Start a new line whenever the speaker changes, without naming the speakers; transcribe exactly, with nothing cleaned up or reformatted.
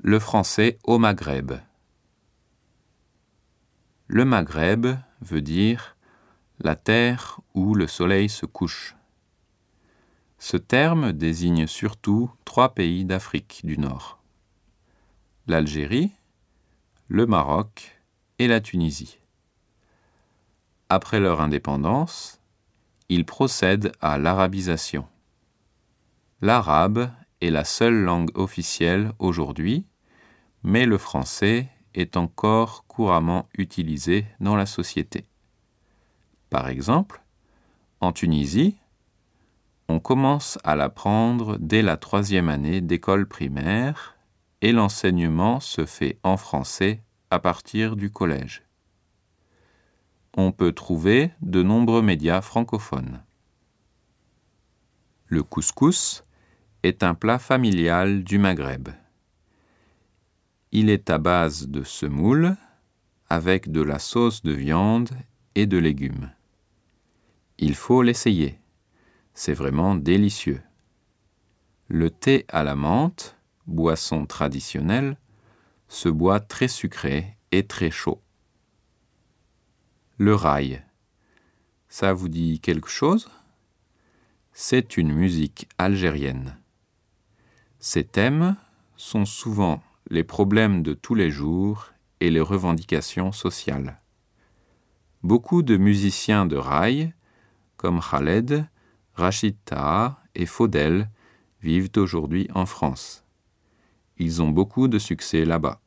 Le français au Maghreb. Le Maghreb veut dire la terre où le soleil se couche. Ce terme désigne surtout trois pays d'Afrique du Nord: l'Algérie, le Maroc et la Tunisie. Après leur indépendance, ils procèdent à l'arabisation. L'arabe est la seule langue officielle aujourd'hui, mais le français est encore couramment utilisé dans la société. Par exemple, en Tunisie, on commence à l'apprendre dès la troisième année d'école primaire et l'enseignement se fait en français à partir du collège. On peut trouver de nombreux médias francophones. Le couscous est un plat familial du Maghreb. Il est à base de semoule avec de la sauce de viande et de légumes. Il faut l'essayer. C'est vraiment délicieux. Le thé à la menthe, boisson traditionnelle, se boit très sucré et très chaud. Le raï, ça vous dit quelque chose ? C'est une musique algérienne. Ses thèmes sont souvent les problèmes de tous les jours et les revendications sociales. Beaucoup de musiciens de raï, comme Khaled, Rachid Taha et Faudel, vivent aujourd'hui en France. Ils ont beaucoup de succès là-bas.